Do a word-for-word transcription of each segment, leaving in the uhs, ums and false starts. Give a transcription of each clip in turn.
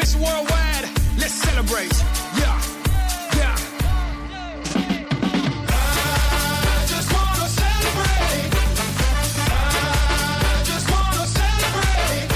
It's worldwide. Let's celebrate. Yeah, yeah. I just wanna celebrate. I just wanna celebrate.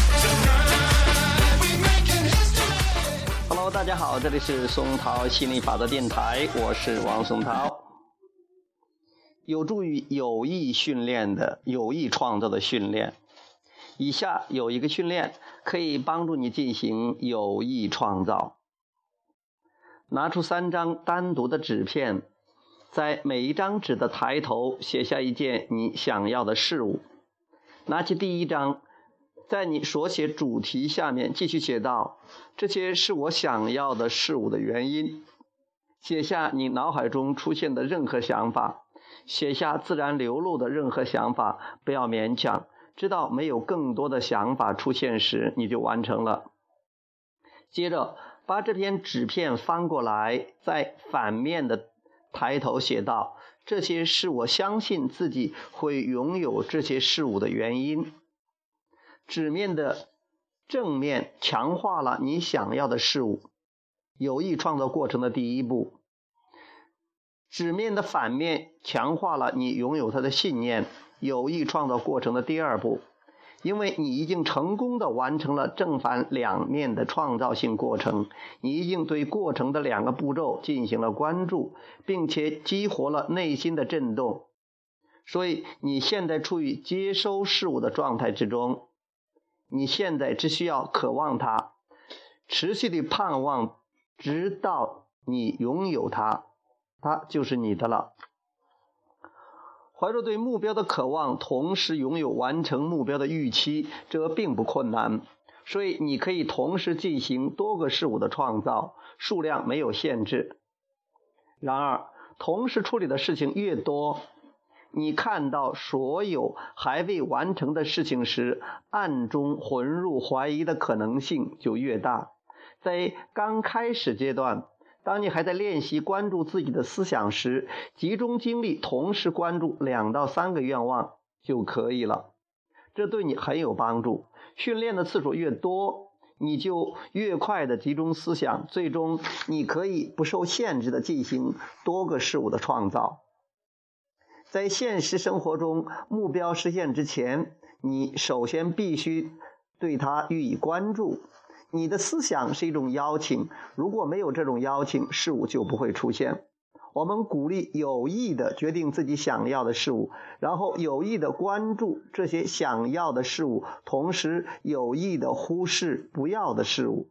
Tonight we making history. Hello， 大家好，这里是松涛心理法则电台，我是王松涛。有助于有意训练的、有意创造的训练。以下有一个训练可以帮助你进行有意创造。拿出三张单独的纸片，在每一张纸的抬头写下一件你想要的事物。拿起第一张，在你所写主题下面继续写道：这些是我想要的事物的原因。写下你脑海中出现的任何想法，写下自然流露的任何想法，不要勉强。知道没有更多的想法出现时，你就完成了。接着把这篇纸片翻过来，在反面的抬头写道：这些是我相信自己会拥有这些事物的原因。纸面的正面强化了你想要的事物，有意创造过程的第一步。纸面的反面强化了你拥有它的信念，有意创造过程的第二步。因为你已经成功地完成了正反两面的创造性过程，你已经对过程的两个步骤进行了关注，并且激活了内心的震动，所以你现在处于接收事物的状态之中。你现在只需要渴望它，持续地盼望，直到你拥有它，它就是你的了。怀着对目标的渴望，同时拥有完成目标的预期，这并不困难。所以你可以同时进行多个事物的创造，数量没有限制。然而，同时处理的事情越多，你看到所有还未完成的事情时，暗中混入怀疑的可能性就越大。在刚开始阶段，当你还在练习关注自己的思想时，集中精力同时关注两到三个愿望就可以了。这对你很有帮助。训练的次数越多，你就越快的集中思想，最终你可以不受限制的进行多个事物的创造。在现实生活中，目标实现之前，你首先必须对它予以关注。你的思想是一种邀请，如果没有这种邀请，事物就不会出现。我们鼓励有意的决定自己想要的事物，然后有意的关注这些想要的事物，同时有意的忽视不要的事物。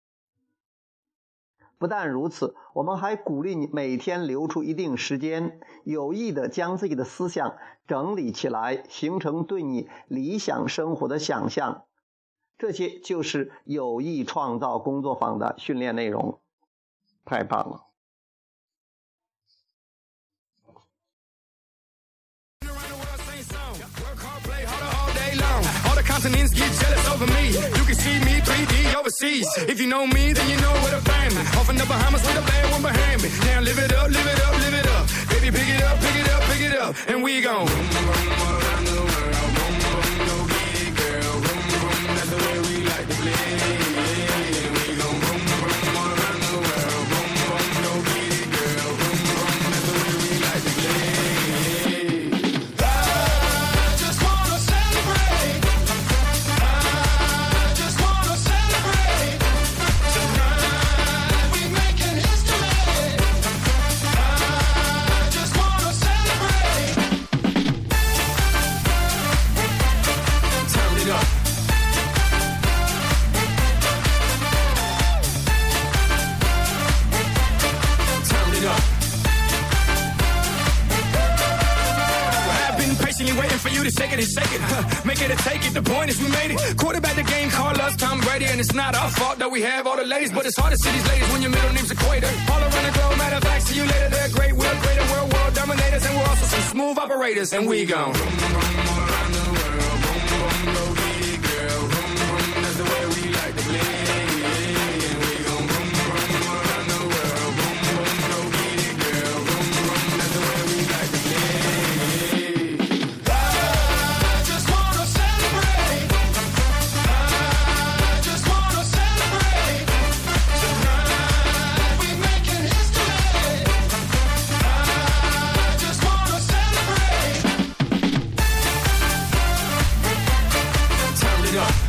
不但如此，我们还鼓励你每天留出一定时间，有意的将自己的思想整理起来，形成对你理想生活的想象。这些就是有意创造工作坊的训练内容。太棒了。 All the continents get jealous over me. You can see me three D overseas. If you know me, then you know where to find me. Off in the Bahamas with a bad one behind me. Now live it up, live it up, live it up. Baby, pick it up, pick it up, pick it up. And we gon' boom, boom, all around the world. Boom, boom, go get it, girl. Boom, boom, that's the way we like to play. We gon' boom, boom, all around the world. Boom, boom, go get it, girl. Boom, boom, that's the way we like to play. Waiting for you to shake it and shake it, huh? Make it or take it, the point is we made it. Quarterback the game, call us Tom Brady. And it's not our fault that we have all the ladies, but it's hard to see these ladies when your middle name's Equator. All around the globe, matter of fact, see you later. They're great, we're greater, we're world dominators. And we're also some smooth operators. And we gon' boom, boom, all around the world. Boom, boom, go get it, girl. Boom, boom, that's the way we like to play. And we gon' boom, boom, all around the world. Boom, boom, go get it, girl. Boom, boom, that's the way we like to play. Celebrate. I just wanna celebrate. up.